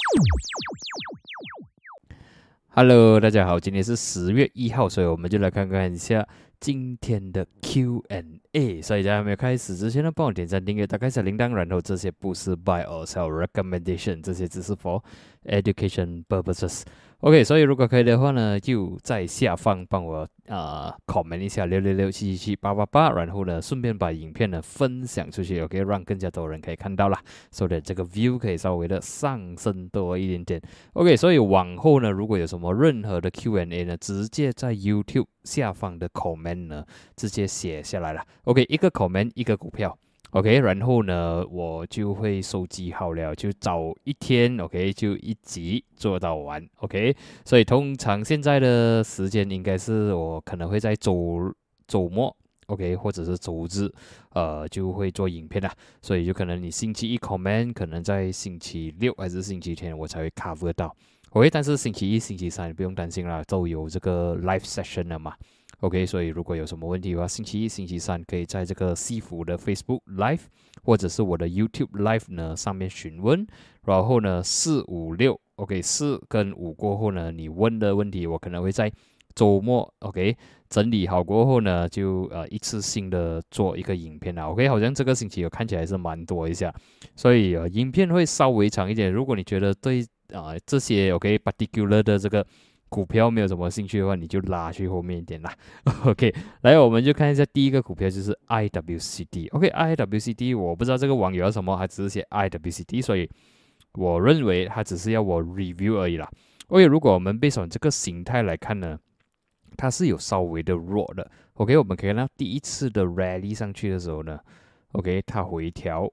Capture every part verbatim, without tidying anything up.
Hello，大家好，今天是十月一号，所以我们就来看看一下今天的 Q and A。所以在还没有开始之前呢，帮我点赞、订阅、打开小铃铛，然后这些不是 buy or sell recommendation，这些只是 for education purposes。OK， 所以如果可以的话呢，就在下方帮我呃 comment 一下六六六七七七八八八，然后呢，顺便把影片呢分享出去，OK， 让更加多人可以看到啦，所以这个 view 可以稍微的上升多一点点。OK，所以往后呢，如果有什么任何的 Q and A 呢，直接在 YouTube 下方的 comment 呢，直接写下来了。OK， 一个 comment 一个股票。OK， 然后呢，我就会收集好了，就找一天 ，OK， 就一集做到完 ，OK。所以通常现在的时间应该是我可能会在周周末 ，OK， 或者是周日，呃，就会做影片啦。所以就可能你星期一 comment， 可能在星期六还是星期天我才会 cover 到。OK， 但是星期一、星期三不用担心啦，都有这个 live session 了嘛。OK， 所以如果有什么问题的话，星期一、星期三可以在这个西服的 Facebook Live 或者是我的 YouTube Live 呢上面询问。然后呢，四五六 OK， 四跟五过后呢，你问的问题我可能会在周末 OK 整理好过后呢，就呃一次性的做一个影片啦。OK， 好像这个星期有看起来是蛮多一下，所以呃影片会稍微长一点。如果你觉得对啊、呃、这些 OK particular 的这个股票没有什么兴趣的话，你就拉去后面一点啦。OK， 来，我们就看一下第一个股票就是 I W C D。OK，I W C D 我不知道这个网友要什么，他只是写 I W C D， 所以我认为他只是要我 review 而已啦。OK， 如果我们 based on 这个形态来看呢，它是有稍微的弱的。OK， 我们可以看到第一次的 rally 上去的时候呢 ，OK， 它回调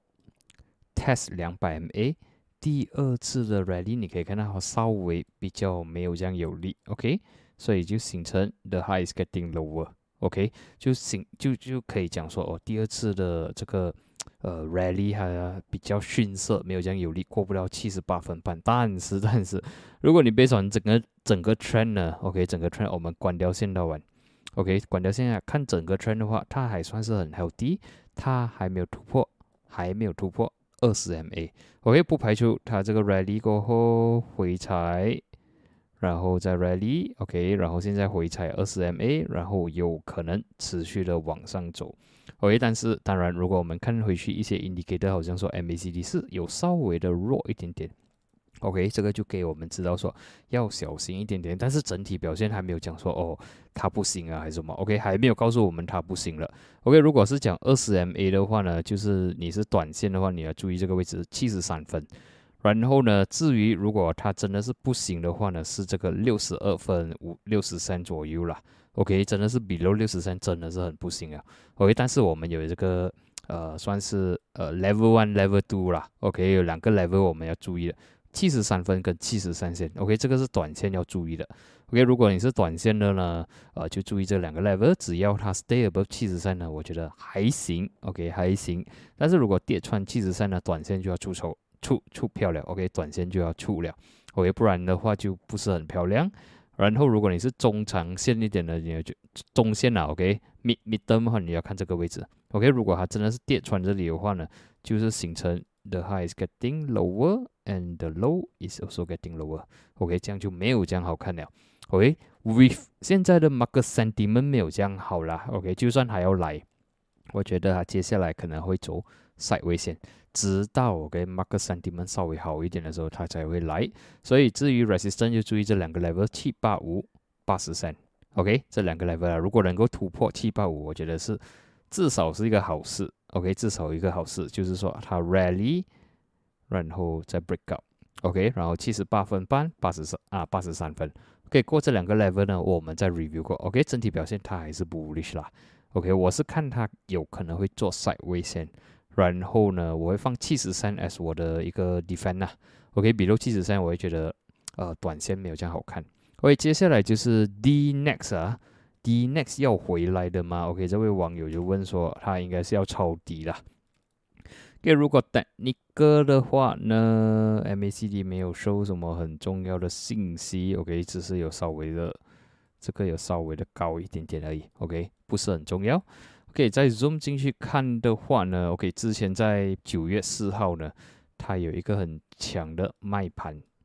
test 两百 M A。第二次的 rally 你可以看到它稍微比较没有这样有力 ，OK， 所以就形成 the high is getting lower，OK， 就形就就可以讲说哦，第二次的这个呃 rally 它比较逊色，没有这样有力，过不了七十八分半。但是但是，如果你 based on 整个整个 trend 呢 ，OK， 整个 trend 我们关掉线道完 ，OK， 关掉线看整个 trend 的话，它还算是很 healthy， 它还没有突破，还没有突破二十 M A。OK， 不排除它这个 rally 过后回踩，然后再 rally， OK， 然后现在回踩二十 M A， 然后有可能持续的往上走。OK， 但是当然，如果我们看回去一些 indicator， 好像说 M A C D 是有稍微的弱一点点。OK， 这个就给我们知道说要小心一点点，但是整体表现还没有讲说哦它不行啊还是什么 ，OK， 还没有告诉我们它不行了。OK， 如果是讲二十 M A 的话呢，就是你是短线的话，你要注意这个位置七十三分。然后呢，至于如果它真的是不行的话呢，是这个六十二分五六十三左右啦。OK， 真的是below六十三真的是很不行啊。OK， 但是我们有这个呃算是呃 level one level two 啦。OK， 有两个 level 我们要注意的。七十三分跟七十三线 ，OK， 这个是短线要注意的。OK， 如果你是短线的呢，呃，就注意这两个 level， 只要它 stay above 七十三呢，我觉得还行 ，OK， 还行。但是如果跌穿七十三呢，短线就要出手出出票了 ，OK， 短线就要出了 ，OK， 不然的话就不是很漂亮。然后如果你是中长线一点的，你就中线啊 ，OK，mid mid term 的话，你要看这个位置 ，OK， 如果它真的是跌穿这里的话呢，就是形成 the high is getting lower and the low is also getting lower， OK， 这样就没有这样好看了。OK，with 现在的 market sentiment 没有这样好啦 ，OK， 就算还要来，我觉得它接下来可能会走 sideways 线，直到 OK market sentiment 稍微好一点的时候，它才会来。所以至于 resistance 就注意这两个 level 七八五、八十三 ，OK， 这两个 level 啊，如果能够突破七八五，我觉得是至少是一个好事 ，OK， 至少一个好事，就是说它 rally， 然后再 break out。OK， 然后七十八分半，八十三啊，八十三分。OK， 过这两个 level 呢，我们再 review 过。OK， 整体表现它还是 bullish 啦。OK， 我是看它有可能会做 sideways 线，然后呢，我会放七十三 as 我的一个 defend 啦。OK， 比如七十三，我会觉得呃短线没有这样好看。OK， 接下来就是 D next 啊 ，D next 要回来的吗 ？OK， 这位网友就问说，他应该是要抄底啦。OK， 如果 technical 的话呢 ，M A C D 没有收什么很重要的信息 ，OK， 只是有稍微的，这个有稍微的高一点点而已 ，OK， 不是很重要。OK， 再 zoom 进去看的话呢 ，OK， 之前在九月四号呢，它有一个很强的卖盘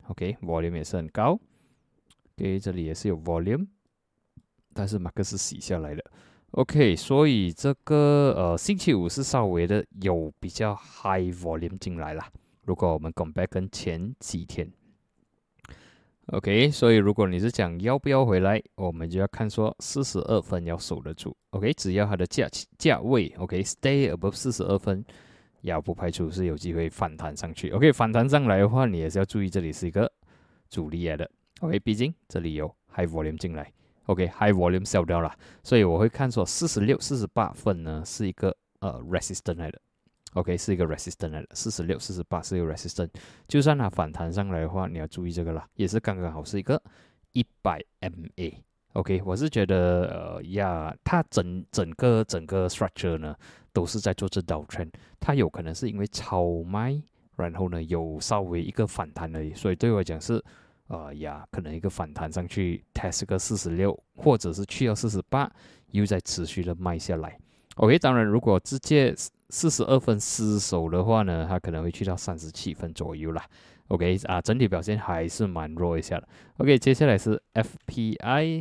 OK，volume 也是很高。OK， 这里也是有 volume， 但是马克是洗下来的。OK， 所以这个呃星期五是稍微的有比较 high volume 进来啦。如果我们 compare 跟前几天。OK， 所以如果你是讲要不要回来，我们就要看说四十二分要守得住。OK， 只要它的价价位 OK stay above 四十二分，也不排除是有机会反弹上去。OK， 反弹上来的话，你也是要注意这里是一个阻力来的。OK， 毕竟这里有 high volume 进来。OK，high volume sell 掉了，所以我会看说四十六、四十八分呢是一个呃 resistant 来的。OK， 是一个 resistant 来的，四十六、四十八是一个 resistant， 就算它反弹上来的话，你要注意这个啦，也是刚刚好是一个一百 M A。OK， 我是觉得呃呀，它整整个整个 structure 呢都是在做这 downtrend， 它有可能是因为超卖，然后呢有稍微一个反弹而已，所以对我来讲是呃呀，可能一个反弹上去 test 个四十六，或者是去到四十八，又再持续的卖下来。OK， 当然如果直接四十二分失守的话呢，它可能会去到三十七分左右啦。OK 啊，整体表现还是蛮弱一下的。OK， 接下来是 F P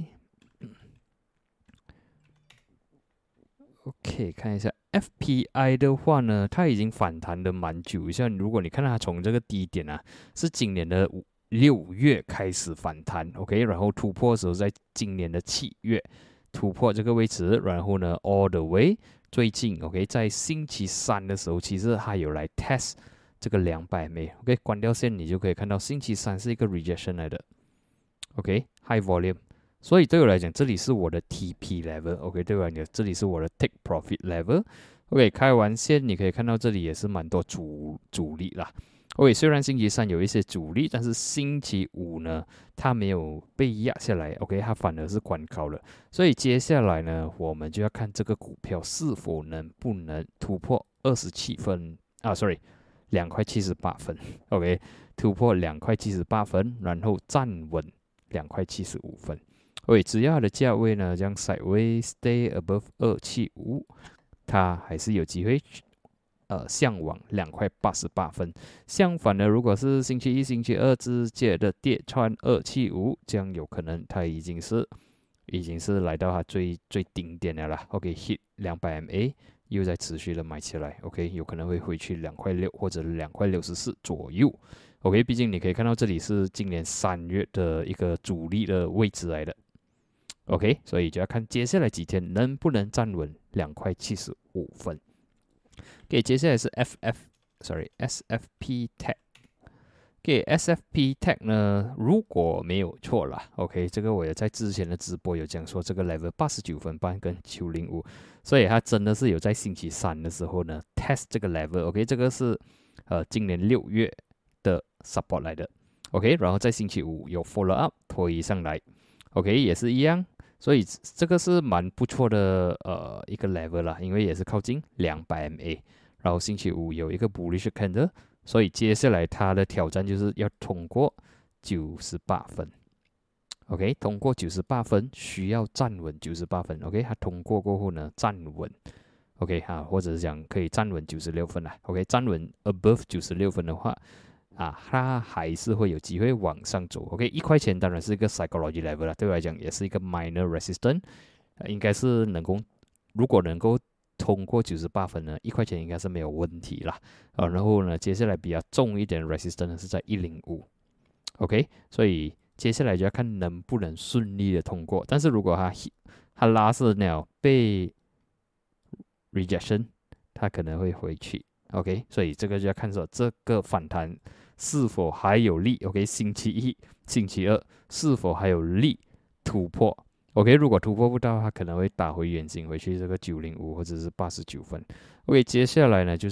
I。OK， 看一下 F P I 的话呢，它已经反弹的蛮久。像如果你看到它从这个低点啊，是今年的六月开始反弹 ，OK， 然后突破的时候在今年的七月。突破这个位置，然后呢 ，all the way， 最近 ，OK， 在星期三的时候，其实还有来 test 这个两百 M A，OK， 关掉线你就可以看到星期三是一个 rejection 来的 ，OK，high volume， 所以对我来讲，这里是我的 T P level，OK， 对我来讲，这里是我的 take profit level，OK， 开完线你可以看到这里也是蛮多阻阻力啦。OK， 虽然星期三有一些阻力，但是星期五呢，它没有被压下来 ，OK， 它反而是关高了。所以接下来呢，我们就要看这个股票是否能不能突破二十七分啊 ，sorry， 两块七十八分 ，OK， 突破两块七十八分，然后站稳两块七十五分。OK， 只要它的价位呢，这样 sideways stay above 二七五，它还是有机会。呃，向往两块八十八分。相反的，如果是星期一、星期二直接的跌穿二七五，这样有可能它已经是已经是来到它最最顶点的啦。OK，hit 两百 M A， 又在持续的买起来。OK， 有可能会回去两块六或者两块六十四左右。OK， 毕竟你可以看到这里是今年三月的一个主力的位置来的。OK， 所以就要看接下来几天能不能站稳两块七十五分。OK， 接下来是 F F，sorry，S F P Tech。OK，S F P Tech 呢，如果没有错啦 ，OK， 这个我也在之前的直播有讲说，这个 level 八十九分半跟九零五，所以它真的是有在星期三的时候呢 test 这个 level。OK， 这个是呃今年六月的 support 来的。OK， 然后在星期五有 follow up 推上来。OK， 也是一样。所以这个是蛮不错的呃一个 level 啦，因为也是靠近两百 M A， 然后星期五有一个 bullish candle， 所以接下来它的挑战就是要通过九十八分 ，OK， 通过九十八分需要站稳九十八分 ，OK， 它通过过后呢站稳 ，OK 哈，或者是讲可以站稳九十六分啦 ，OK， 站稳 above 九十六分的话。啊，它还是会有机会往上走。OK， 一块钱当然是一个 psychology level 啦，对我来讲也是一个 minor resistance，、呃、应该是能够，如果能够通过九十八分呢，一块钱应该是没有问题啦。啊，然后呢，接下来比较重一点的 resistance 是在一零五。OK， 所以接下来就要看能不能顺利的通过。但是如果它它拉是了被 rejection， 它可能会回去。OK， 所以这个就要看说这个反弹是否还有力。OK， 星期一、星期二是否还有力突破 ？OK， 如果突破不到，它可能会打回原形，回去这个九零五或者是八十九分。OK， 接下来呢就是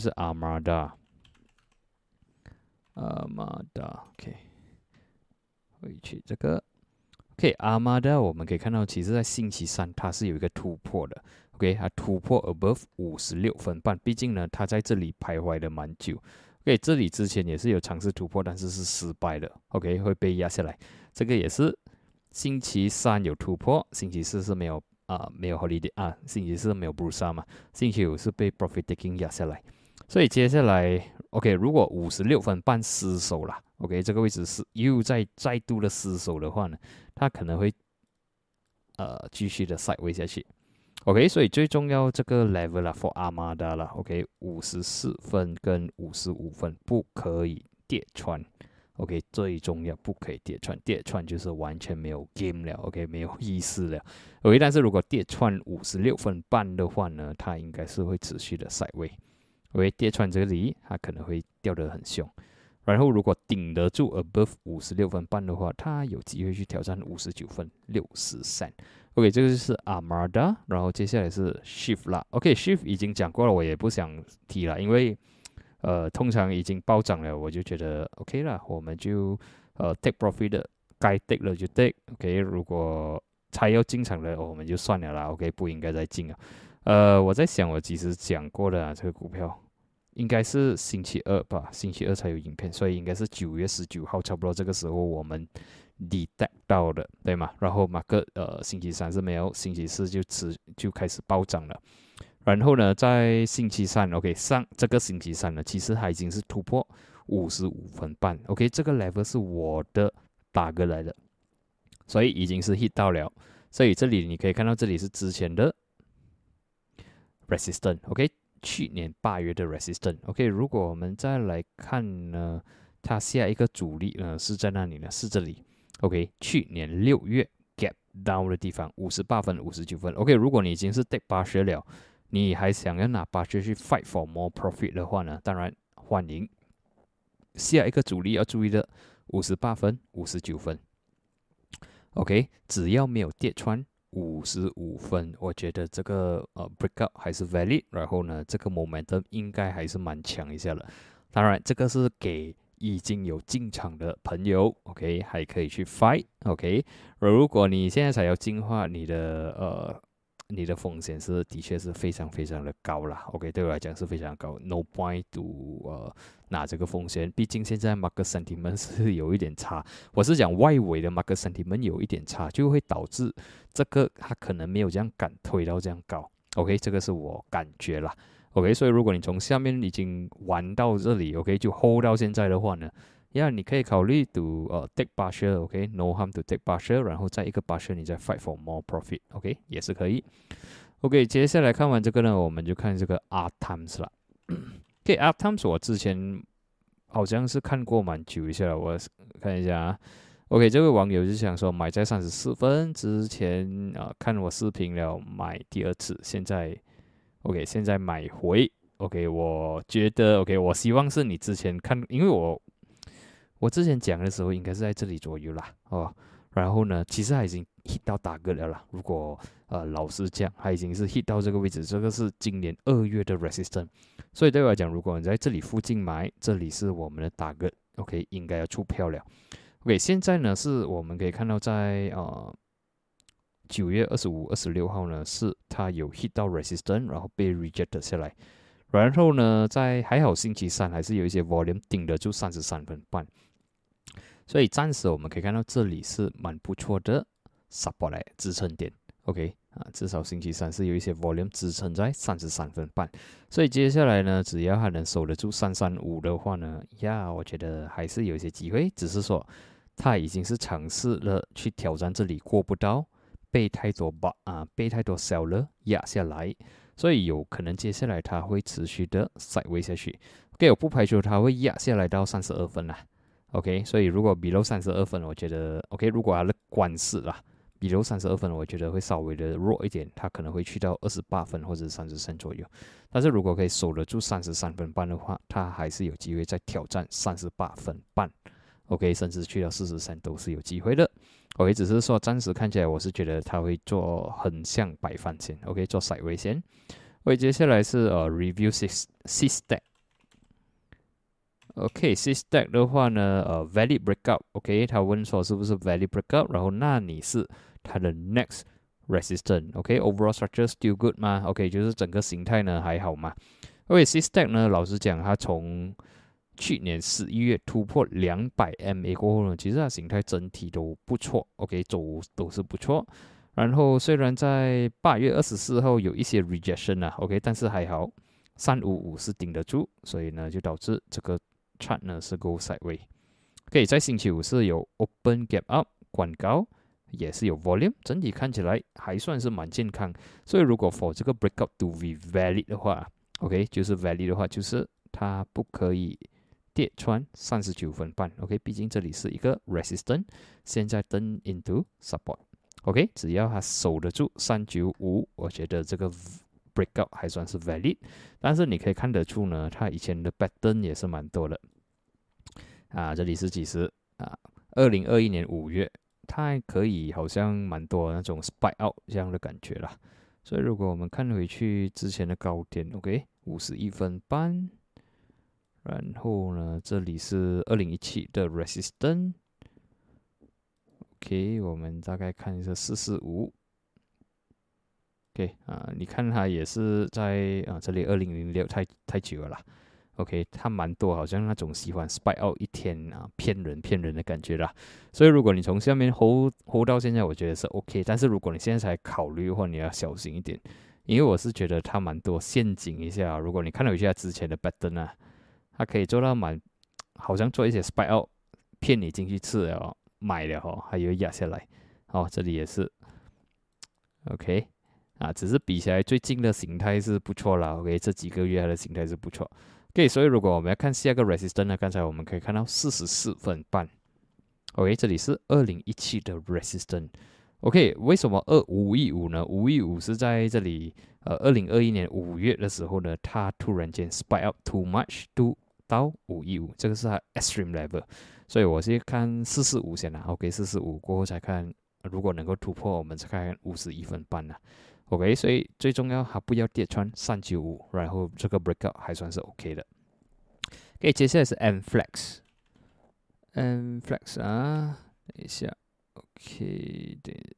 Armada，Armada，OK， 回去这个 OK，Armada 我们可以看到，其实在星期三它是有一个突破的。OK， 它突破 above 五十六分半，毕竟呢，它在这里徘徊了蛮久。OK， 这里之前也是有尝试突破，但是是失败的。OK， 会被压下来。这个也是星期三有突破，星期四是没有啊、呃，没有 holiday 啊，星期四没有 Bursa 嘛，星期五是被 profit taking 压下来。所以接下来 OK， 如果五十六分半失守啦 ，OK， 这个位置是又再再度的失守的话呢，它可能会呃继续的 sideways 下去。OK， 所以最重要这个 level 啦 for Armada 啦 ，OK， 五十四分跟五十五分不可以跌穿。OK， 最重要不可以跌穿，跌穿就是完全没有 game 了 ，OK， 没有意思了。OK， 但是如果跌穿五十六分半的话呢，它应该是会持续的 sideways。OK， 跌穿这里，它可能会掉得很凶。然后如果顶得住 above 五十六分半的话，它有机会去挑战五十九分六十三。OK， 这个就是 Armada， 然后接下来是 Shift 啦。OK，Shift 已经讲过了，我也不想提了，因为呃通常已经暴涨了，我就觉得 OK 啦，我们就呃 take profit 的，该 take 了就 take。OK， 如果才要进场的，我们就算了啦。OK， 不应该再进了。呃，我在想，我其实讲过的啊，这个股票应该是星期二吧，星期二才有影片，所以应该是九月十九号，差不多这个时候我们 detect 到的，对吗？然后马克呃星期三是没有，星期四就持就开始暴涨了。然后呢，在星期三 ，OK， 上这个星期三呢，其实它已经是突破五十五分半 ，OK， 这个 level 是我的打个来的，所以已经是 hit 到了。所以这里你可以看到，这里是之前的 resistance，OK， 去年八月的 resistance，OK， 如果我们再来看呢，它下一个阻力呢是在哪里呢？是这里 ，OK， 去年六月 gap down 的地方，五十八分、五十九分 ，OK， 如果你已经是 take 八十了。你还想要拿八十去 fight for more profit 的话呢？当然欢迎。下一个阻力要注意的，五十八分、五十九分。OK， 只要没有跌穿五十五分，我觉得这个呃 breakout 还是 valid。然后呢，这个 momentum 应该还是蛮强一下的。当然，这个是给已经有进场的朋友 ，OK， 还可以去 fight。OK， 如果你现在才要进化，你的呃。你的风险是的确是非常非常的高啦 ，OK， 对我来讲是非常高 ，no point to 呃拿这个风险，毕竟现在 market sentiment 是有一点差，我是讲外围的 market sentiment 有一点差，就会导致这个它可能没有这样敢推到这样高 ，OK， 这个是我感觉啦 ，OK， 所以如果你从下面已经玩到这里 ，OK， 就 hold 到现在的话呢。呀， yeah, 你可以考虑 to 呃、uh, take partial，OK，no、okay? harm to take partial， 然后再一个 partial， 你再 fight for more profit，OK，、okay? 也是可以。OK， 接下来看完这个呢，我们就看这个 R times 啦。OK，R times 我之前好像是看过蛮久一下了，我看一下啊。OK， 这位网友就想说买在三十四分之前啊、呃，看我视频了买第二次，现在 OK， 现在买回 OK， 我觉得 OK， 我希望是你之前看，因为我。我之前讲的时候应该是在这里左右啦，哦，然后呢，其实它已经 hit 到打个了啦。如果呃老实讲，它已经是 hit 到这个位置，这个是今年二月的 resistance， 所以对我来讲，如果你在这里附近买，这里是我们的打个 ，OK， 应该要出票了。OK， 现在呢是我们可以看到在呃九月二十五、二十六号呢，是它有 hit 到 resistance， 然后被 reject 下来。然后呢，在还好星期三还是有一些 volume 顶得住三十三分半。所以暂时我们可以看到这里是蛮不错的 support 来支撑点 ，OK 啊，至少星期三是有一些 volume 支撑在三十三分半，所以接下来呢，只要它能守得住三三五的话呢，呀，我觉得还是有一些机会，只是说它已经是尝试了去挑战这里过不到，被太多把啊被太多 seller 压下来，所以有可能接下来它会持续的 sideways 下去 ，OK， 我不排除它会压下来到三十二分啦。OK， 所以如果 below 三十二分，我觉得 OK。如果它的关势啦 ，below 三十二分，我觉得会稍微的弱一点，它可能会去到二十八分或者三十三左右。但是如果可以守得住三十三分半的话，它还是有机会再挑战三十八分半。OK， 甚至去到四十三都是有机会的。OK， 只是说暂时看起来，我是觉得它会做横向摆翻线 ，OK， 做 sideways 线。OK， 接下来是呃 review six six stack。OK，C stack 的话呢，呃 valid breakout，OK， 他问说是不是 valid breakout， 然后那你是它的 next resistance，OK，overall structure still good 吗 ？OK， 就是整个形态呢还好吗 ？OK，C stack 呢，老实讲，它从去年十一月突破两百 M A 过后呢，其实它形态整体都不错 ，OK， 走都是不错。然后虽然在八月二十四号有一些 rejection 啊 ，OK， 但是还好。 三五五是顶得住，所以呢就导致这个 chart 呢是 go sideways。OK， 在星期五是有 open gap up 关高，也是有 volume， 整体看起来还算是蛮健康。所以如果 for 这个 breakout to be valid 的话 ，OK 就是 valid 的话，就是它不可以跌穿三十九分半 ，OK， 毕竟这里是一个 resistance， 现在 turn into support，OK， 只要它守得住三九五，我觉得这个 breakout 还算是 valid， 但是你可以看得出呢，它以前的 pattern 也是蛮多的啊，这里是几时啊？二零二一年五月，它还可以好像蛮多那种 spike out 这样的感觉啦。所以如果我们看回去之前的高点 ，OK， 五十一分半，然后呢，这里是二零一七的 resistance。OK， 我们大概看一下四四五。OK 啊，你看它也是在啊，这里二零零六太太久了啦。OK， 它蛮多，好像那种喜欢 spike out 一天啊，骗人骗人的感觉啦。所以如果你从下面 hold hold 到现在，我觉得是 OK。但是如果你现在才考虑的话，你要小心一点，因为我是觉得它蛮多陷阱一下。如果你看了一下之前的 pattern 啊，它可以做到蛮，好像做一些 spike out 骗你进去吃了买了哈，还有压下来。哦，这里也是 OK 啊，只是比起来最近的形态是不错啦。OK， 这几个月它的形态是不错。OK， 所以如果我们要看下个 resistance 呢，刚才我们可以看到四十四分半。OK， 这里是二零一七的 resistance。OK， 为什么二五一五呢？五一五是在这里，呃，二零二一年五月的时候呢，它突然间 spike up too much to 到五一五，这个是它 extreme level。所以我是看四四五先啦。OK， 四四五过后才看，如果能够突破，我们再看五十一分半啦。OK， 所以最重要它不要跌穿三九五，然后这个 breakout 还算是 OK 的。OK， 接下来是 M Flex，M Flex 啊，等一下 ，OK， 对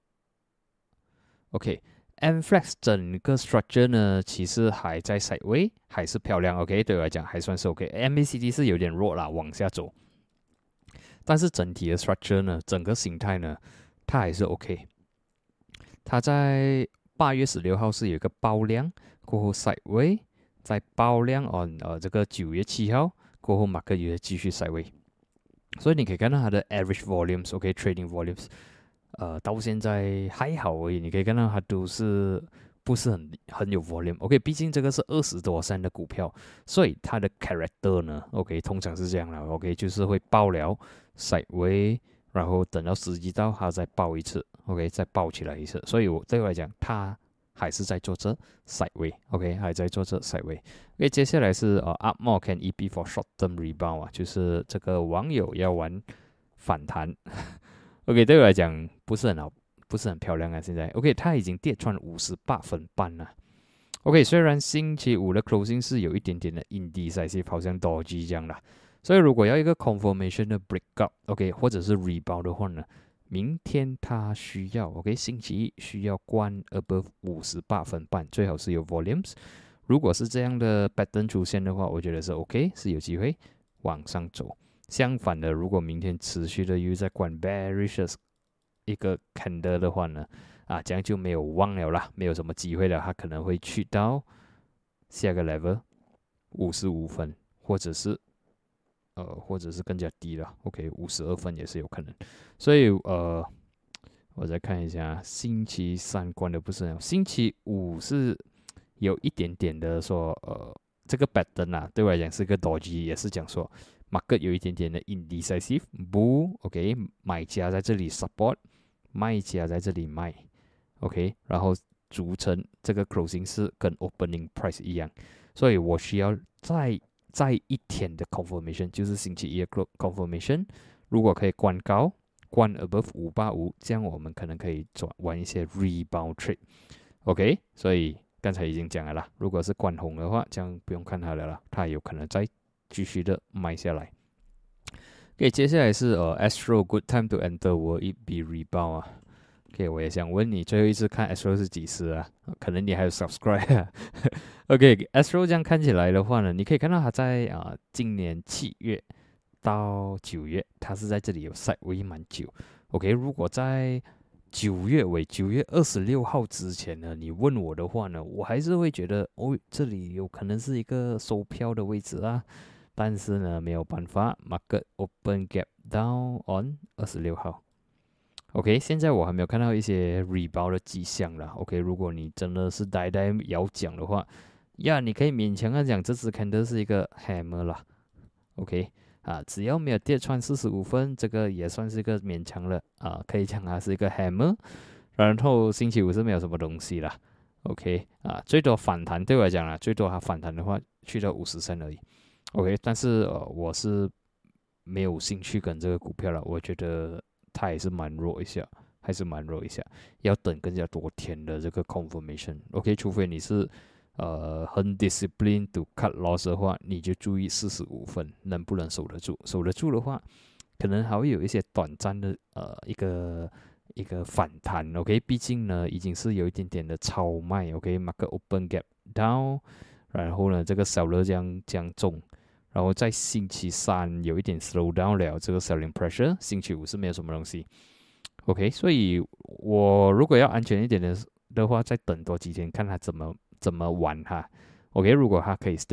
，OK，M Flex 整个 structure 呢，其实还在 sideway， 还是漂亮 ，OK， 对我来讲还算是 OK。M A C D 是有点弱啦，往下走，但是整体的 structure 呢，整个形态呢，它还是 OK。它在八月十六号是有一个爆量，过后 sideway， 再爆量 on 呃这个九月七号过后，马克也继续 sideway， 所以你可以看到它的 average volumes，OK，trading volumes， 呃到现在还好而已，你可以看到它都是不是很很有 volume，OK， 毕竟这个是二十多三的股票，所以它的 character 呢 ，OK， 通常是这样啦 ，OK， 就是会爆了 sideway。然后等到时机到，它再爆一次 ，OK， 再爆起来一次。所以我对我来讲，它还是在做这 sideway，OK， 还在做这 sideway。OK， 接下来是呃 up more can E P for short term rebound 啊，就是这个网友要玩反弹。OK， 对我来讲不是很好，不是很漂亮啊。现在 OK， 它已经跌穿五十八分半了。OK， 虽然星期五的 closing 是有一点点的 indecisive， 好像 dodgy 这样啦。所以如果要一个 confirmation 的 breakout，OK， 或者是 rebound 的话呢，明天它需要 OK， 星期一需要关 above 五十八分半，最好是有 volumes。如果是这样的 pattern 出现的话，我觉得是 OK， 是有机会往上走。相反的，如果明天持续的又在关 bearish 一个 candle 的话呢，啊，这样就没有望了啦，没有什么机会了，它可能会去到下个 level 五十五分，或者是。呃，或者是更加低了 ，OK， 五十二分也是有可能。所以呃，我再看一下，星期三关的不是很好，星期五是有一点点的说，呃，这个 pattern 啊，对我来讲是个 dodgy， 也是讲说 market 有一点点的 indecisive bull，OK， 买家在这里 support， 卖家在这里卖 ，OK， 然后组成这个 closing 是跟 opening price 一样，所以我需要再。在一天的 confirmation 就是星期一的 confirmation， 如果可以关高，关 above 五八五，这样我们可能可以转玩一些 rebound trade，OK， 所以刚才已经讲了啦，如果是关红的话，这样不用看它了啦，它有可能再继续的卖下来。OK， 接下来是呃 Astro good time to enter will it be rebound 啊？ OK， 我也想问你，最后一次看 Astro 是几时啊？可能你还有 subscribe 啊。OK，Astro 这样看起来的话呢，你可以看到它在啊、呃、今年七月到九月，它是在这里有 sideway 蛮久。OK， 如果在九月尾，九月二十六号之前呢，你问我的话呢，我还是会觉得哦，这里有可能是一个收票的位置啊。但是呢，没有办法 ，market open gap down on 二十六号。OK， 现在我还没有看到一些 rebound 的迹象啦。OK， 如果你真的是呆呆要讲的话，呀，你可以勉强的讲这只 candle 是一个 hammer 啦。OK， 啊，只要没有跌穿四十五分，这个也算是一个勉强了啊，可以讲它是一个 hammer。然后星期五是没有什么东西啦。OK， 啊，最多反弹对我来讲啦，最多它反弹的话去到五十升而已。OK， 但是呃，我是没有兴趣跟这个股票了，我觉得它也是蛮弱一下，还是蛮弱一下，要等更加多天的这个 confirmation。OK， 除非你是呃很 discipline to cut loss 的话，你就注意四十五分能不能守得住，守得住的话，可能还会有一些短暂的呃一个一个反弹。OK， 毕竟呢已经是有一点点的超卖。OK，market open gap down， 然后呢这个小热将将重。然后在星期三有一点 slow down 了，这个 selling pressure。星期五是没有什么东西。OK， 所以我如果要安全一点的的话，再等多几天，看它怎么怎么玩哈。OK， 如果它可以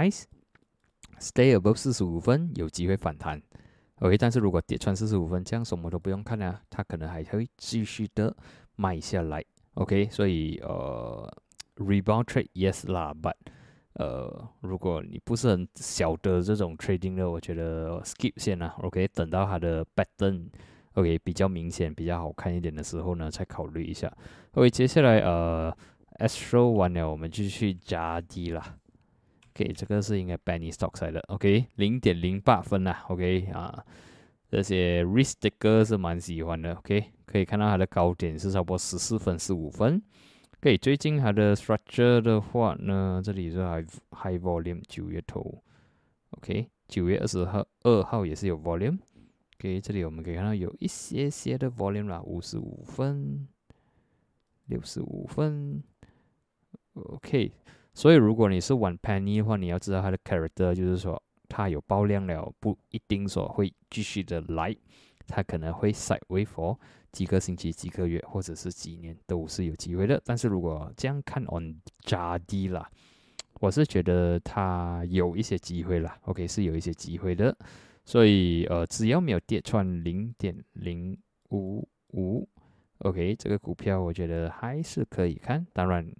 stabilize，stay above 四十五分，有机会反弹。OK， 但是如果跌穿四十五分，这样什么都不用看啊，它可能还会继续的卖下来。OK， 所以呃 rebound trade yes 啦 ，but呃，如果你不是很晓得这种 trading 的，我觉得 skip 先啦。OK， 等到它的 pattern，OK， 比较明显、比较好看一点的时候呢，再考虑一下。OK， 接下来呃 ，Astro 完了，我们就去加 D 啦。OK， 这个是应该 penny stocks 来的。OK， 零点零八分啦。OK 啊，这些 risk taker 是蛮喜欢的。OK， 可以看到它的高点是差不多十四分、十五分。OK， 最近它的 structure 的话呢，这里是 high high volume 九月头。OK， 九月二十号二号也是有 volume。OK， 这里我们可以看到有一些些的 volume 啦，五十五分、六十五分。OK， 所以如果你是玩 penny 的话，你要知道它的 character， 就是说它有爆量了，不一定说会继续的来，它可能会 sideway for几个星期、几个月，或者是几年都是有机会的。但是如果这样看 on 加 D 啦，我是觉得它有一些机会啦。OK， 是有一些机会的。所以呃，只要没有跌穿零点零五五 ，OK， 这个股票我觉得还是可以看。当然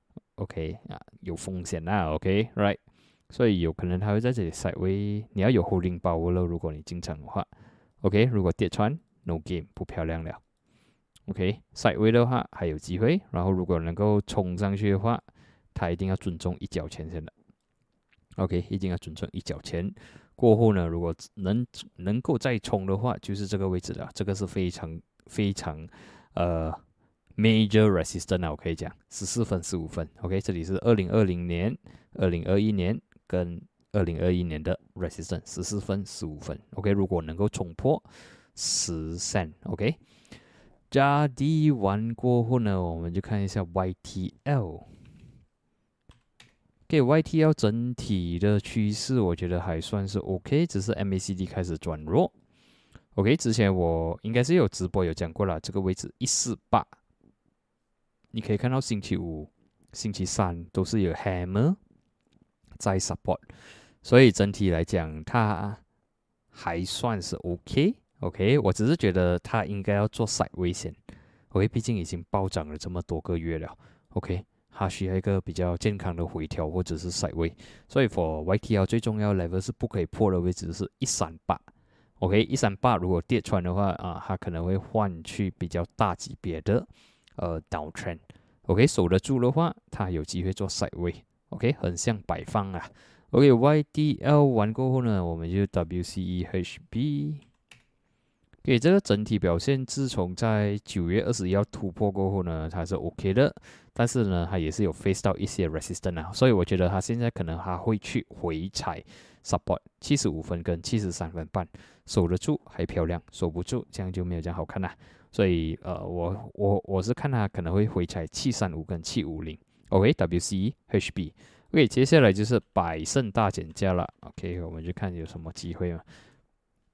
，OK 啊，有风险啦。OK，right， 所以有可能它会在这里 sideway， 你要有 holding power 了。如果你进场的话 ，OK， 如果跌穿 ，no game， 不漂亮了。OK，sideway 的话还有机会。然后如果能够冲上去的话，它一定要尊重一角钱先的。OK， 一定要尊重一角钱。过后呢，如果能能够再冲的话，就是这个位置了。这个是非常非常呃 major resistance 啊，我可以讲十四分、十五分。OK， 这里是二零二零年、二零二一年跟二零二一年的 resistance， 十四分、十五分。OK， 如果能够冲破十 cent，OK， 加 D 完过后呢，我们就看一下 Y T L。OK，Y T L 整体的趋势我觉得还算是 OK， 只是 M A C D 开始转弱。OK， 之前我应该是有直播有讲过了，这个位置一四八，你可以看到星期五、星期三都是有 hammer 在 support， 所以整体来讲它还算是 OK。OK， 我只是觉得它应该要做 side 危险。OK， 毕竟已经暴涨了这么多个月了。OK。它需要一个比较健康的回调或者是 side way， 所以 for Y T L 最重要的 level 是不可以破的位置是一三八。OK， 一三八如果跌穿的话啊，它可能会换去比较大级别的呃 downtrend。OK， 守得住的话，它有机会做 side way。OK， 很像摆放啊。OK，Y T L 完过后呢，我们就 W C E H B。OK， 这个整体表现，自从在九月二十一号突破过后呢，它是 OK 的。但是呢，它也是有 face 到一些 resistance 啊，所以我觉得它现在可能还会去回踩 support 七十五分跟七十三分半，守得住还漂亮，守不住这样就没有这样好看啦。所以呃，我我我是看它可能会回踩七三五跟七五零。OK，W C E H B。OK， 接下来就是百胜大减价了。OK， 我们就看有什么机会嘛。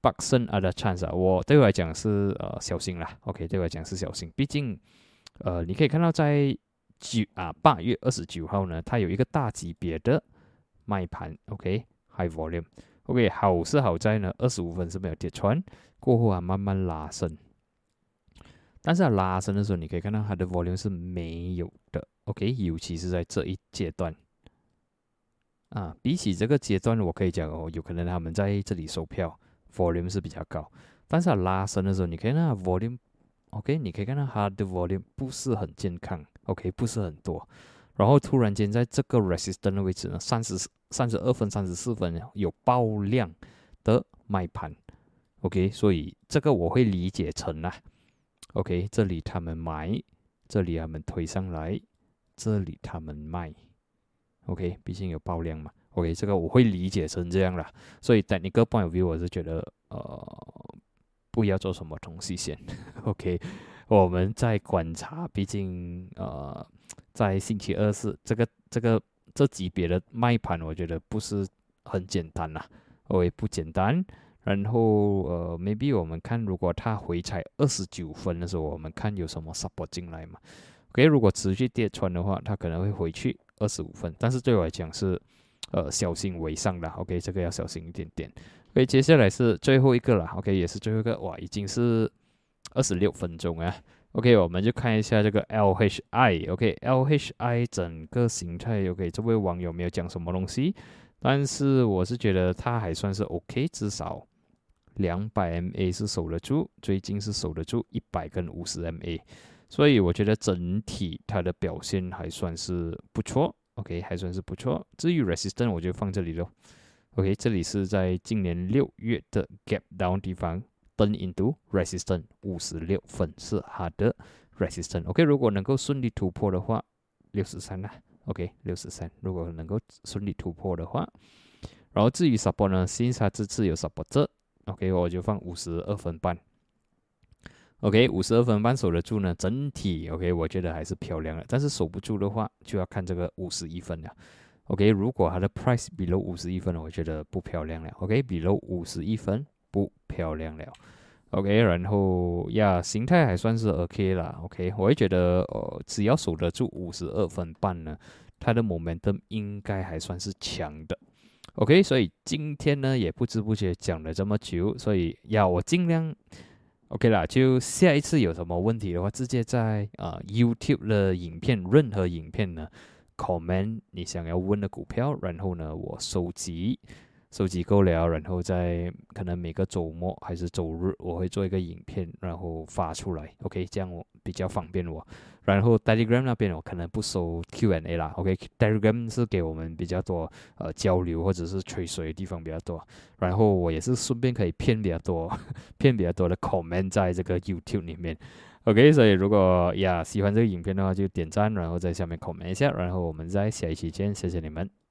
Clarkson ada chance 啊，我对我来讲是呃小心啦 ，OK， 对我来讲是小心，毕竟呃你可以看到在九啊八月二十九号呢，它有一个大级别的卖盘 ，OK，high volume，OK， 好是好在呢，二十五分是没有跌穿，过后啊慢慢拉升，但是它拉升的时候，你可以看到它的 volume 是没有的 ，OK， 尤其是在这一阶段。啊，比起这个阶段，我可以讲哦，有可能他们在这里收票 volume 是比较高，但是它拉升的时候，你可以看到 volume，OK， 你可以看到它的 volume 不是很健康 ，OK， 不是很多，然后突然间在这个 resistance 的位置呢，三十三十二分、三十四分有爆量的卖盘 ，OK， 所以这个我会理解成啊 ，OK， 这里他们买，这里他们推上来，这里他们卖。OK， 毕竟有爆量嘛。OK， 这个我会理解成这样啦。所以 technical point of view 我是觉得，呃，不要做什么东西先。OK， 我们在观察，毕竟呃，在星期二是这个这个这级别的卖盘，我觉得不是很简单啦。OK， 不简单。然后呃 ，maybe 我们看，如果它回踩二十九分的时候，我们看有什么 support 进来嘛。OK， 如果持续跌穿的话，它可能会回去二十五分，但是对我来讲是，呃，小心为上的。OK， 这个要小心一点点。OK， 接下来是最后一个了。OK， 也是最后一个，哇，已经是二十六分钟啊。OK， 我们就看一下这个 L H I。OK，L H I 整个形态 ，OK， 这位网友没有讲什么东西，但是我是觉得它还算是 OK， 至少两百 M A 是守得住，最近是守得住一百跟五十 M A。所以我觉得整体它的表现还算是不错 ，OK， 还算是不错。至于 resistance 我就放这里咯 ，OK， 这里是在今年六月的 gap down 地方 turn into resistance 五十六分是它的 resistance。OK， 如果能够顺利突破的话，六十三啦 ，OK， 六十三，如果能够顺利突破的话，然后至于 support 呢，新它这次有 support 这 ，OK， 我就放五十二分半。OK， 五十二分半守得住呢，整体 OK， 我觉得还是漂亮的。但是守不住的话，就要看这个五十一分了。OK， 如果它的 price below 五十一分，我觉得不漂亮了。OK，below 五十一分不漂亮了。OK， 然后呀，形态还算是 OK 啦。OK， 我会觉得呃，只要守得住五十二分半呢，它的 momentum 应该还算是强的。OK， 所以今天呢也不知不觉讲了这么久，所以呀，我尽量。OK 啦，就下一次有什么问题的话，直接在呃 YouTube 的影片，任何影片呢 ，comment 你想要问的股票，然后呢，我收集，收集够了，然后在可能每个周末还是周日，我会做一个影片，然后发出来 ，OK， 这样我比较方便我。然后 Telegram 那边我可能不收 Q and A 啦 ，OK，Telegram 是给我们比较多呃交流或者是吹水的地方比较多，然后我也是顺便可以骗比较多，骗比较多的 comment 在这个 YouTube 里面 ，OK， 所以如果呀喜欢这个影片的话就点赞，然后在下面 comment 一下，然后我们在下一期见，谢谢你们。